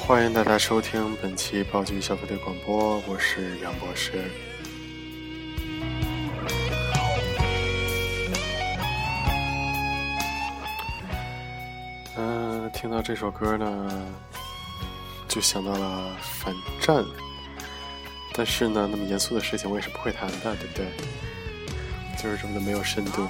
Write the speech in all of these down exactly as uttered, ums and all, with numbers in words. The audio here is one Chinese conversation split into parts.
欢迎大家收听本期爆剧消费队广播，我是杨博士。嗯、呃，听到这首歌呢，就想到了反战，但是呢，那么严肃的事情我也是不会谈的，对不对？就是这么的没有深度。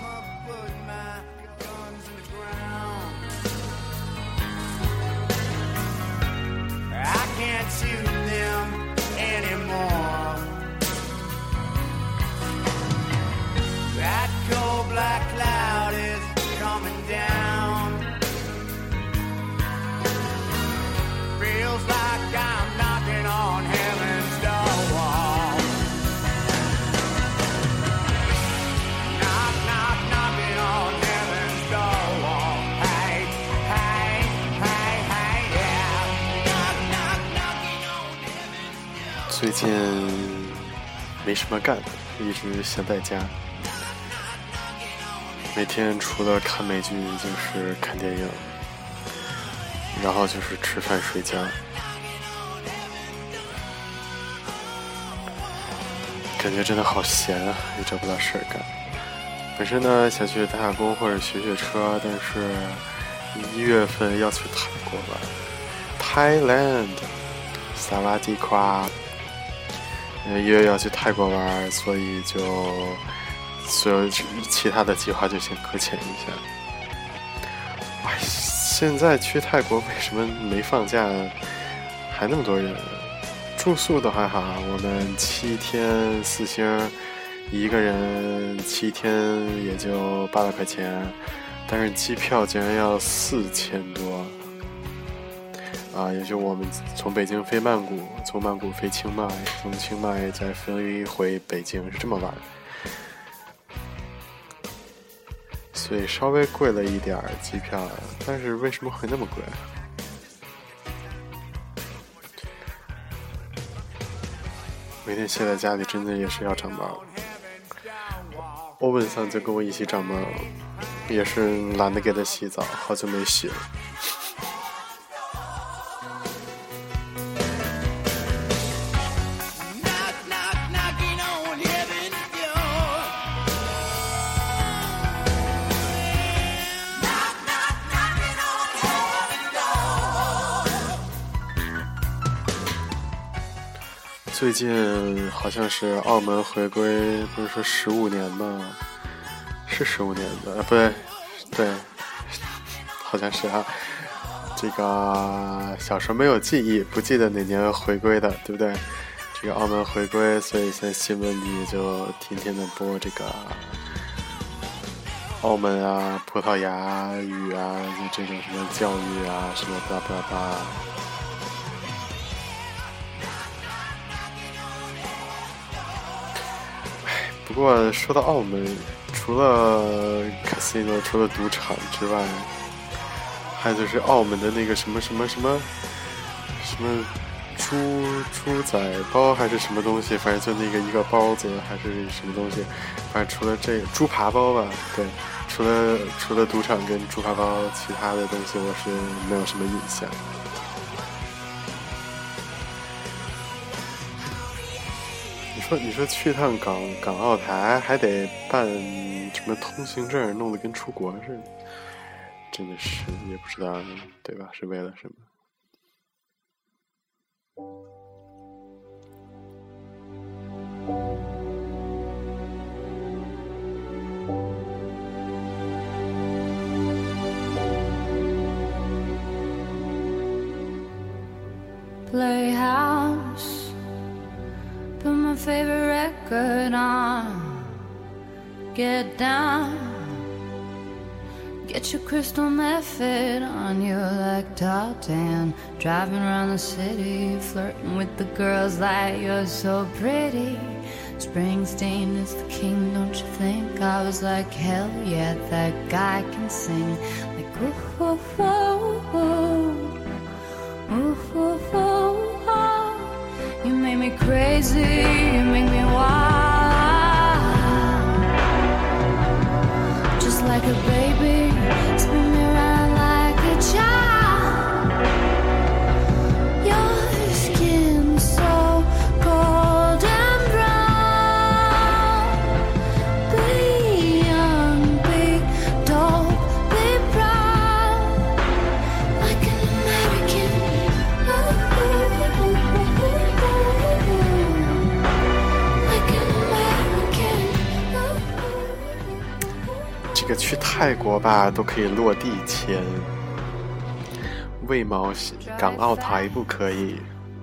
最近没什么干，一直闲在家，每天除了看美剧就是看电影，然后就是吃饭睡觉，感觉真的好闲啊，也找不到事儿干。本身呢想去打打工或者学学车，但是一月份要去泰国了 Thailand 萨瓦迪夸，一月要去泰国玩，所以就所有其他的计划就先搁浅一下。哎，现在去泰国为什么没放假还那么多人？住宿的还好，我们七天四星，一个人七天也就八百块钱，但是机票竟然要四千多。啊，也就我们从北京飞曼谷，从曼谷飞清迈，从清迈再飞回北京，是这么玩的，所以稍微贵了一点机票，但是为什么会那么贵？每天歇在家里真的也是要长毛。欧文桑就跟我一起长毛，也是懒得给他洗澡，好久没洗了。最近好像是澳门回归，不是说十五年吗？是十五年的，不对，对，好像是啊。这个小时候没有记忆，不记得哪年回归的，对不对？这个澳门回归，所以现在新闻里就天天的播这个澳门啊、葡萄牙语啊，就这种什么教育啊，什么巴拉巴拉。不过说到澳门，除了 casino 除了赌场之外，还有就是澳门的那个什么什么什么什么猪猪仔包还是什么东西，反正就那个一个包子还是什么东西，反正除了这个猪扒包吧，对，除了除了赌场跟猪扒包，其他的东西我是没有什么印象。你说你说去趟港港澳台还得办什么通行证，弄得跟出国似的，真的是也不知道对吧？是为了什么 ？Playhouse, put my favorite record on. Get down, get your crystal method on you like Tartan. Driving around the city, flirting with the girls like you're so pretty. Springsteen is the king, don't you think? I was like, hell yeah, that guy can sing. Like, ooh, ooh, ooh, ooh, ooh, ooh, ooh, ooh. You make me crazy, you make me wild. Just like a baby, spin me around like a child. You're 泰国吧都可以落地签，为毛港澳台不可以？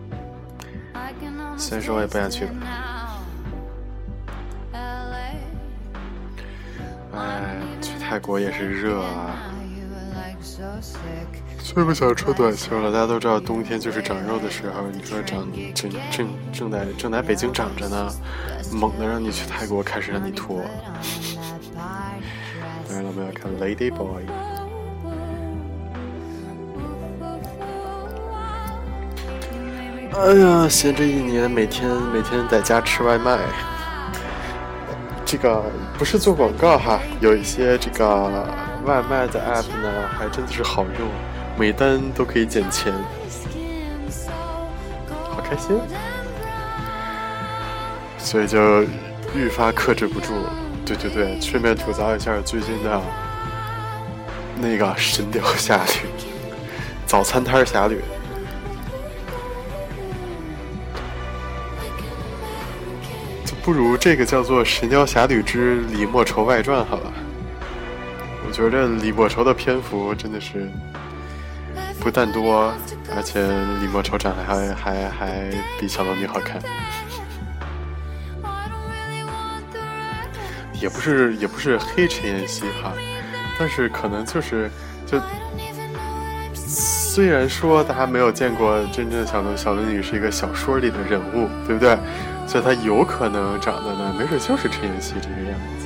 虽然说我也不想去吧。哎，去泰国也是热啊，最不想穿短袖了。大家都知道冬天就是长肉的时候，你说长正正正在正在北京长着呢，猛的让你去泰国开始让你脱。当然了，我们要看 Lady Boy。哎呀，闲着一年，每天每天在家吃外卖。这个不是做广告哈，有一些这个外卖的 app 呢，还真的是好用，每单都可以减钱，好开心，所以就愈发克制不住。对对对，顺便吐槽一下最近的那个《神雕侠侣》早餐摊侠侣。不如这个叫做《神雕侠侣之李莫愁外传》好了。我觉得李莫愁的篇幅真的是不但多，而且李莫愁长得还还还比小龙女好看。也不是也不是黑陈妍希哈，但是可能就是就虽然说大家没有见过真正的小龙小龙女是一个小说里的人物，对不对？所以她有可能长得呢，没准就是陈妍希这个样子。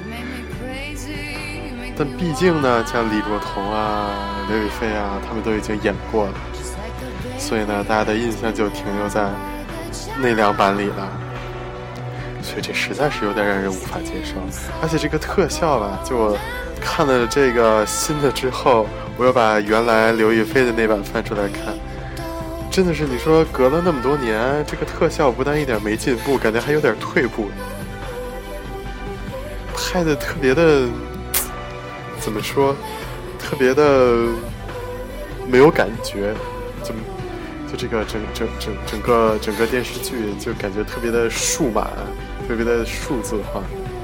但毕竟呢，像李若彤啊、刘亦菲啊，他们都已经演过了，所以呢，大家的印象就停留在那两版里了。所以这实在是有点让人无法接受。而且这个特效吧，就我看了这个新的之后，我又把原来刘亦菲的那版翻出来看。真的是，你说隔了那么多年，这个特效不但一点没进步，感觉还有点退步，拍的特别的，怎么说，特别的没有感觉，就就这个整整整整个整个电视剧就感觉特别的数码，特别的数字化。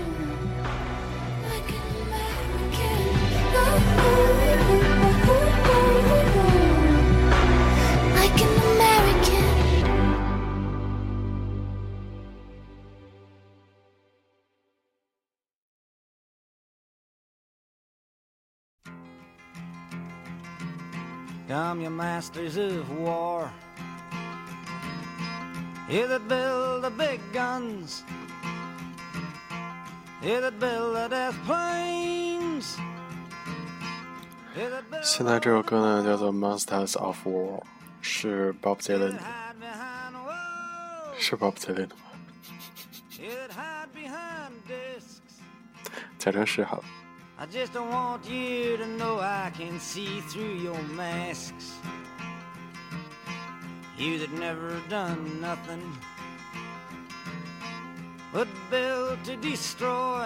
Come, you masters of war, you that build the big guns, you that build the death planes. 现在这首歌呢叫做 Monsters of War， 是 Bob Dylan， 是 Bob Dylan 吗？假装是好了。 I just don't want you to know I can see through your masks. You that never done nothing but build to destroy.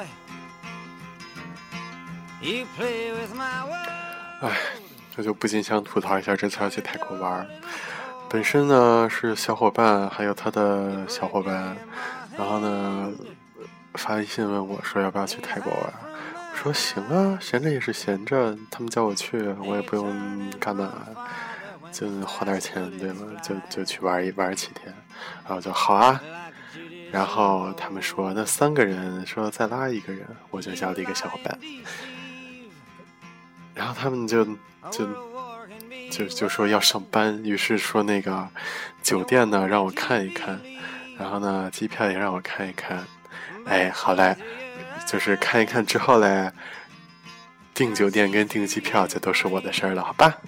You play with my world. 哎，我就不禁想吐槽一下这次要去泰国玩。本身呢是小伙伴还有他的小伙伴，然后呢发微信问我说要不要去泰国玩。说行啊，闲着也是闲着，他们叫我去，我也不用干嘛，就花点钱，对吗？就就去玩一玩几天，然后就好啊。然后他们说那三个人，说再拉一个人，我就叫了一个小伙伴。然后他们就就就就说要上班，于是说那个酒店呢让我看一看，然后呢机票也让我看一看。哎，好嘞。就是看一看之后嘞，订酒店跟订机票就都是我的事儿了，好吧？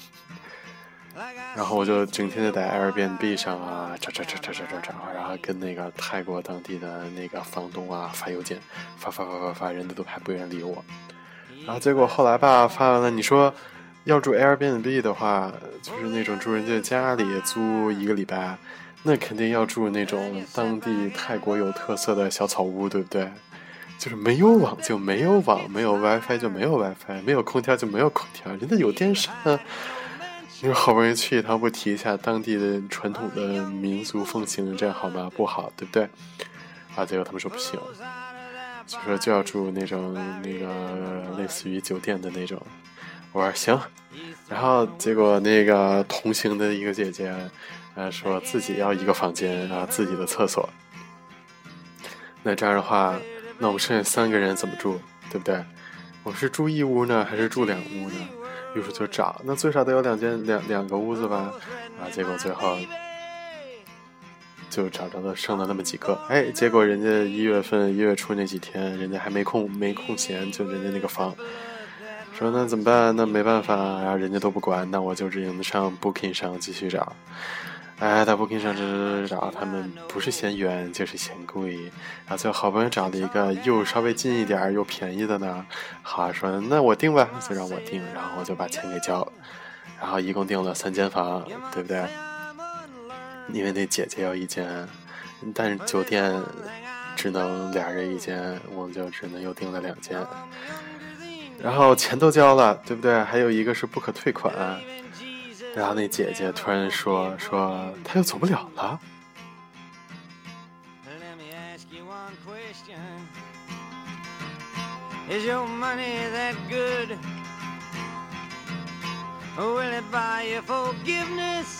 然后我就整天就在 Airbnb 上啊找找找找找找找，然后跟那个泰国当地的那个房东啊发邮件，发发发发发，人家都还不愿意理我。然后结果后来吧，发完了，你说要住 Airbnb 的话，就是那种住人家家里租一个礼拜，那肯定要住那种当地泰国有特色的小草屋，对不对？就是没有网就没有网，没有 WiFi 就没有 WiFi， 没有空调就没有空调，人家有电扇啊。你说好不容易去一趟，不提一下当地的传统的民俗风情，这样好吗？不好，对不对？啊，结果他们说不行。 就说就要住那种那个类似于酒店的那种。我说行，然后结果那个同行的一个姐姐，呃，说自己要一个房间啊，自己的厕所。那这样的话，那我们剩下三个人怎么住，对不对？我是住一屋呢，还是住两屋呢？于是就找，那最少得有两间两两个屋子吧，啊，结果最后就找着了，剩了那么几个。哎，结果人家一月份一月初那几天，人家还没空没空闲，就人家那个房。说那怎么办？那没办法，然后人家都不管，那我就只能上 Booking 上继续找。哎，在 Booking 上找找，他们不是嫌远就是嫌贵，然后最后好不容易找了一个又稍微近一点又便宜的呢。好，说那我订吧，就让我订，然后我就把钱给交了，然后一共订了三间房，对不对？因为那姐姐要一间，但是酒店只能俩人一间，我们就只能又订了两间。然后钱都交了，对不对？还有一个是不可退款。然后那姐姐突然说说她又走不了了。 Is your money that good? Will it buy you forgiveness?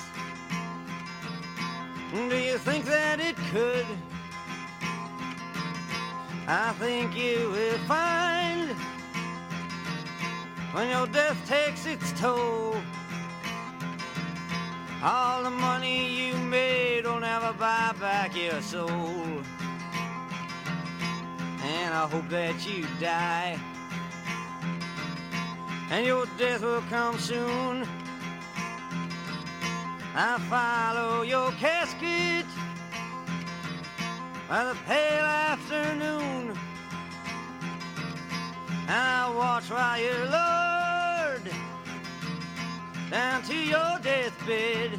Do you think that it could? I think you will find when your death takes its toll, all the money you made will never buy back your soul. And I hope that you die, and your death will come soon. I follow your casket by the pale afternoon, and I watch while you're lowered down to your deathbed,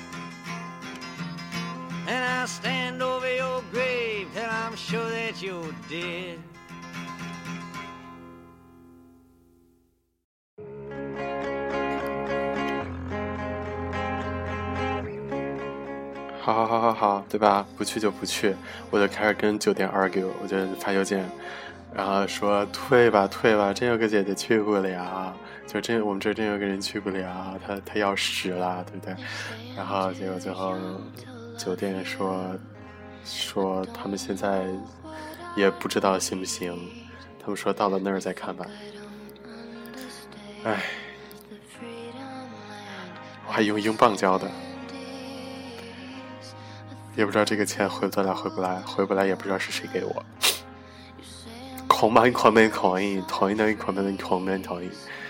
and I stand over your grave till I'm sure that you're dead. 好好好好好，对吧？不去就不去，我就开始跟酒店 argue， 我就发邮件，然后说退吧退吧，真有个姐姐去不了，就真我们这真有个人去不了，他他要屎了，对不对？然后结果最后酒店说说他们现在也不知道行不行，他们说到了那儿再看吧。哎，我还用英镑交的，也不知道这个钱回不来回不来，回不来也不知道是谁给我。狂满狂满狂印，狂印的狂满的狂满狂印。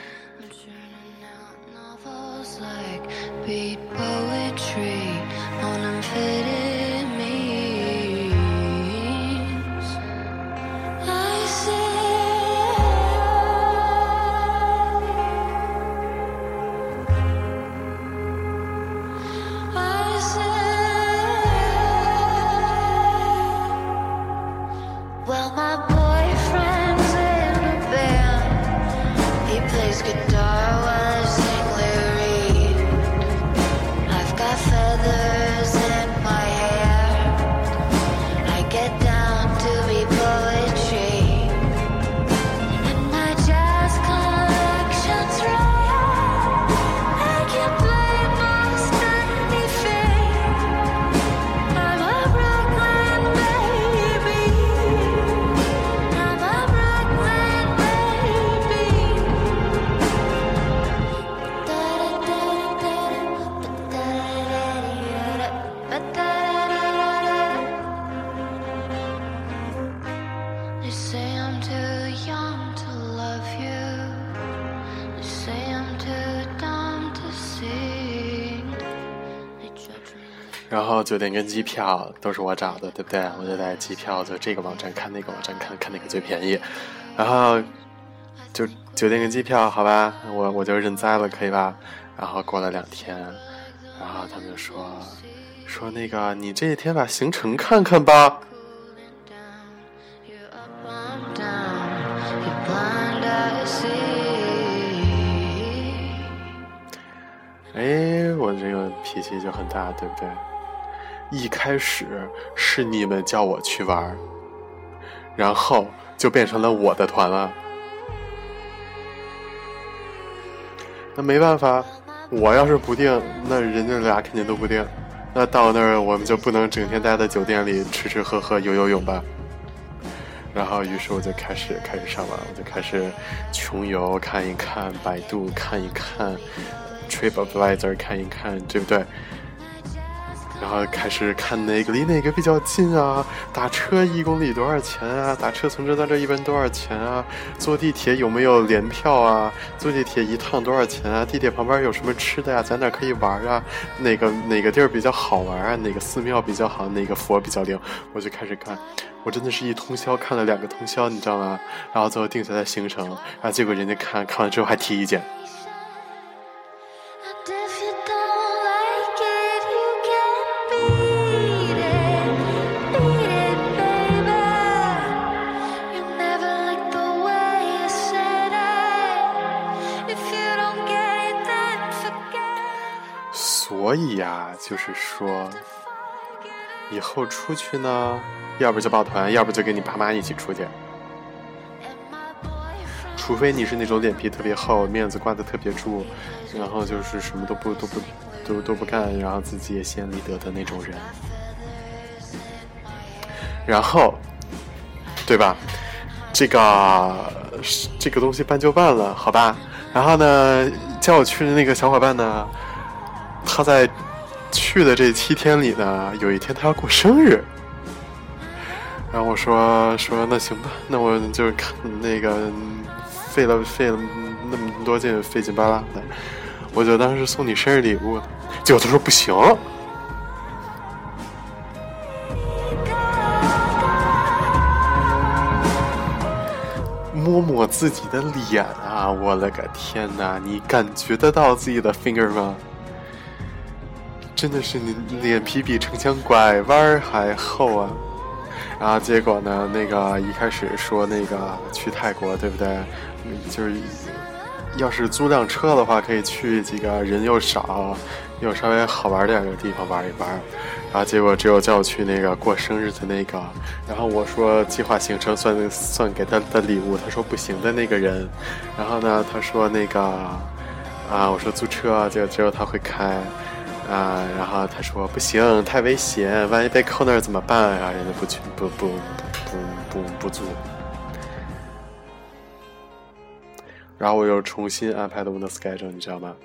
然后酒店跟机票都是我找的，对不对？我就在机票就这个网站看那个网站看，看哪个最便宜。然后就酒店跟机票，好吧，我我就认栽了，可以吧？然后过了两天，然后他们就说说那个你这一天把行程看看吧。哎，我这个脾气就很大，对不对？一开始是你们叫我去玩， 然后就变成了我的团了。那没办法，我要是不定，那人家俩肯定都不定。那到那儿我们就不能整天待在酒店里吃吃喝喝游游泳吧。然后于是我就开始开始上网，我就开始穷游看一看，百度看一看， TripAdvisor 看一看，对不对？然后开始看哪个离哪个比较近啊，打车一公里多少钱啊，打车从这到这一般多少钱啊，坐地铁有没有联票啊，坐地铁一趟多少钱啊，地铁旁边有什么吃的呀、啊，在哪可以玩啊，哪个哪个地儿比较好玩啊，哪个寺庙比较好，哪个佛比较灵，我就开始看。我真的是一通宵看了两个通宵，你知道吗？然后最后定下来行程，然后结果人家看看完之后还提意见。所以呀、啊，就是说，以后出去呢，要不就抱团，要不就跟你爸妈一起出去。除非你是那种脸皮特别厚，面子挂得特别住，然后就是什么都不都不都都不干，然后自己也先立得的那种人。然后，对吧？这个这个东西办就办了，好吧？然后呢，叫我去的那个小伙伴呢，他在去的这七天里呢，有一天他要过生日。然后我说说那行吧，那我就看那个费了费了那么多劲，费劲巴拉的，我就当时送你生日礼物。结果他说不行。摸摸自己的脸啊，我了个天哪，你感觉得到自己的 finger 吗？真的是你脸皮比城墙拐弯还厚啊。然后结果呢，那个一开始说那个去泰国，对不对？就是要是租辆车的话，可以去几个人又少又稍微好玩点的地方玩一玩。然后结果只有叫我去那个过生日的那个，然后我说计划行程算算给他的礼物，他说不行的那个人。然后呢，他说那个啊，我说租车，结果只有他会开。啊，然后他说不行，太危险，万一被扣那儿怎么办呀？人家不去，不不不不不租。然后我又重新安排了我的 schedule， 你知道吗？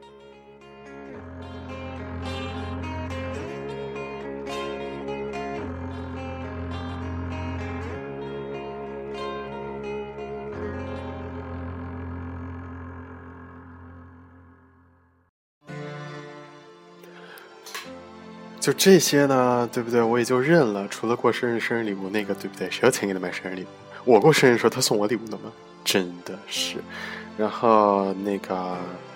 就这些呢，对不对？我也就认了。除了过生日生日礼物那个，对不对？谁有钱给他买生日礼物？我过生日的时候他送我礼物的吗？真的是。然后那个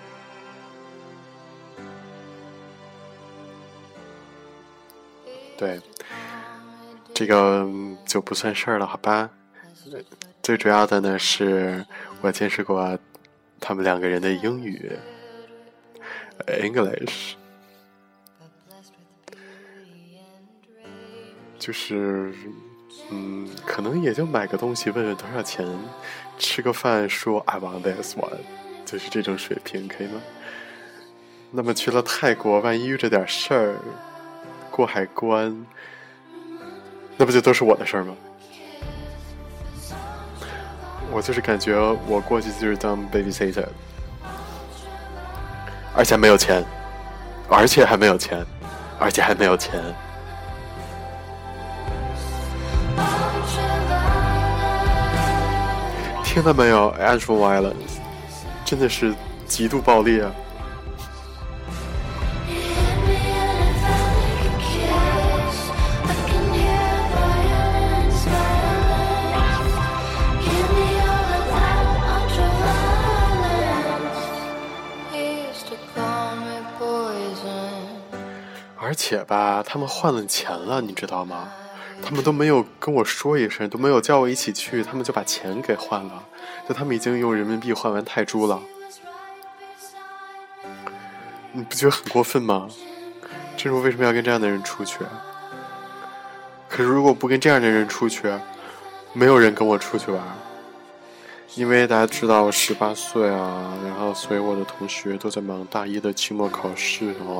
对，这个就不算事儿了，好吧？最主要的呢是我见识过他们两个人的英语 English，就是嗯，可能也就买个东西问问多少钱，吃个饭说 I want this one， 就是这种水平，可以吗？那么去了泰国，万一遇着点事儿，过海关，那不就都是我的事儿吗？我就是感觉我过去就是当 babysitter， 而且没有钱，而且还没有钱，而且还没有钱。听到没有 actual violence， 真的是极度暴力啊。而且吧，他们换了钱了，你知道吗？他们都没有跟我说一声，都没有叫我一起去，他们就把钱给换了，就他们已经用人民币换完泰铢了。你不觉得很过分吗？这是我为什么要跟这样的人出去？可是如果不跟这样的人出去， 没有人跟我出去玩，因为大家知道我十八岁啊，然后所以我的同学都在忙大一的期末考试哦。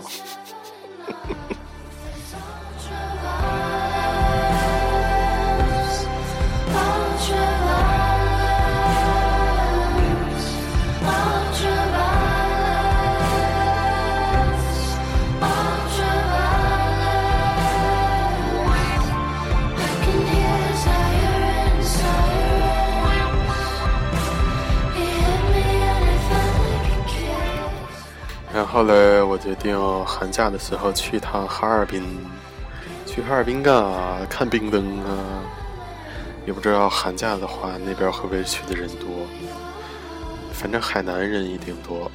然后呢，我决定寒假的时候去一趟哈尔滨，去哈尔滨干啊？看冰灯啊！也不知道寒假的话那边会不会去的人多，反正海南人一定多。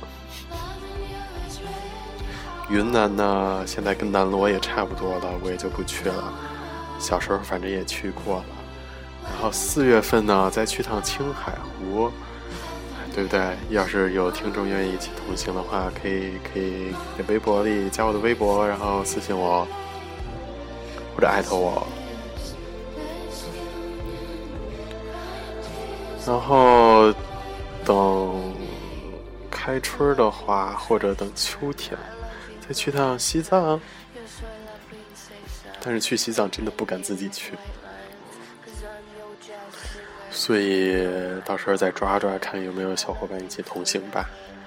云南呢，现在跟南锣也差不多了，我也就不去了。小时候反正也去过了。然后四月份呢，再去趟青海湖。对不对？要是有听众愿意一起同行的话，可以可以在微博里加我的微博，然后私信我，或者艾特我。然后等开春的话，或者等秋天，再去趟西藏。但是去西藏真的不敢自己去。所以到时候再抓抓看有没有小伙伴一起同行吧。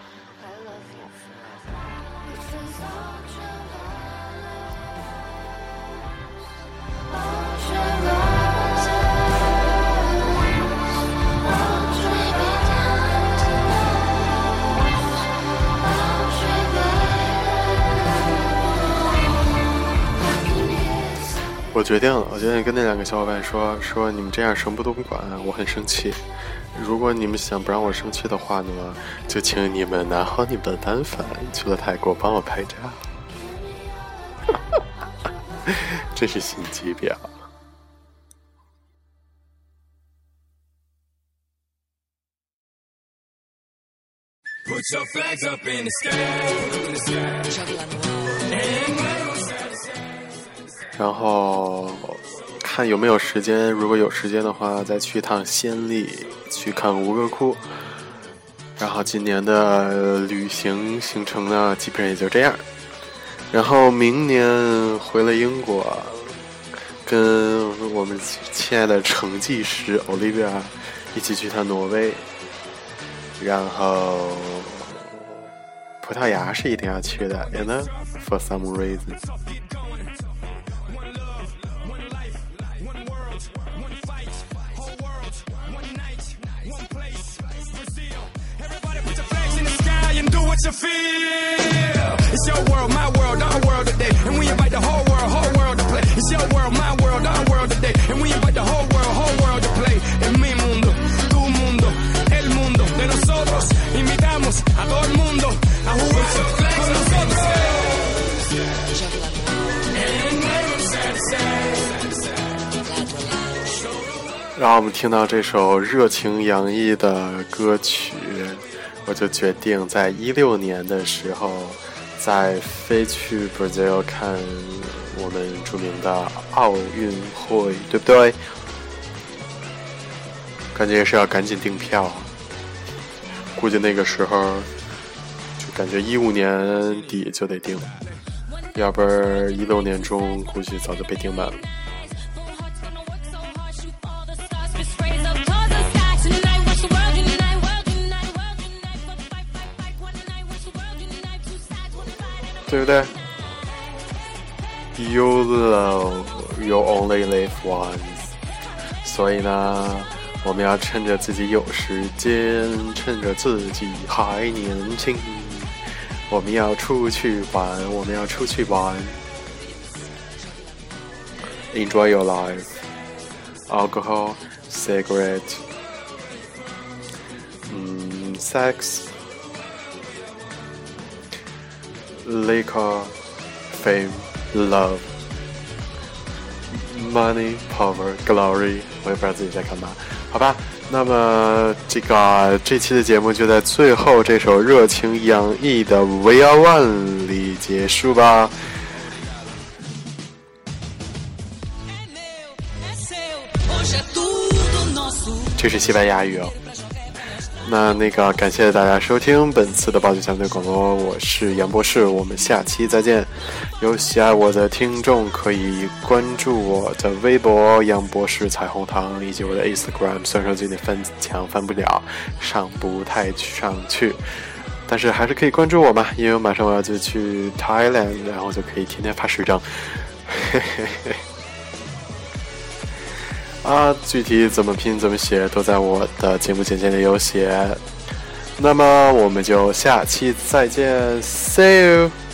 我决定了，我决定跟那两个小伙伴说说你们这样什么都不管，我很生气。如果你们想不让我生气的话呢，就请你们拿好你们的单反，去了泰国帮我拍照。真是心机婊。Put your flags up in the sky. 然后看有没有时间，如果有时间的话再去一趟暹粒，去看吴哥窟。然后今年的旅行行程呢基本上也就这样。然后明年回了英国，跟我们亲爱的成绩师 Olivia 一起去趟挪威。然后葡萄牙是一定要去的 you know, for some reason。What you feel? It's your world, my world, our world today, and we invite the whole world, whole world to play. It's your world, my world, our world today, and we invite the whole world, whole world to play. En mi mundo, tu mundo, el mundo de nosotros. Invitamos a todo el mundo a jugar con nosotros. 让我们听到这首热情洋溢的歌曲。我就决定在一六年的时候再飞去 Brazil 看我们著名的奥运会，对不对？感觉是要赶紧订票，估计那个时候就感觉一五年底就得订，要不然一六年中估计早就被订满了。对不对 ？You love, you only live once。所以呢，我们要趁着自己有时间，趁着自己还年轻，我们要出去玩，我们要出去玩。Enjoy your life. Alcohol, cigarette, 嗯 sex.Liquor, fame, love, money, power, glory， 我也不知道自己在干嘛，好吧？那么这个这期的节目就在最后这首热情洋溢的 We Are One 里结束吧。 É meu, é seu, hoje é tudo 这是西班牙语哦。那那个感谢大家收听本次的报警相对广播，我是杨博士，我们下期再见。有喜爱我的听众可以关注我的微博杨博士彩虹糖，以及我的 Instagram， 虽然说最近翻墙翻不了，上不太上去，但是还是可以关注我嘛，因为马上我要就去 Thailand， 然后就可以天天发时装。嘿嘿嘿。啊，具体怎么拼怎么写都在我的节目简介里有写。那么我们就下期再见 ，See you。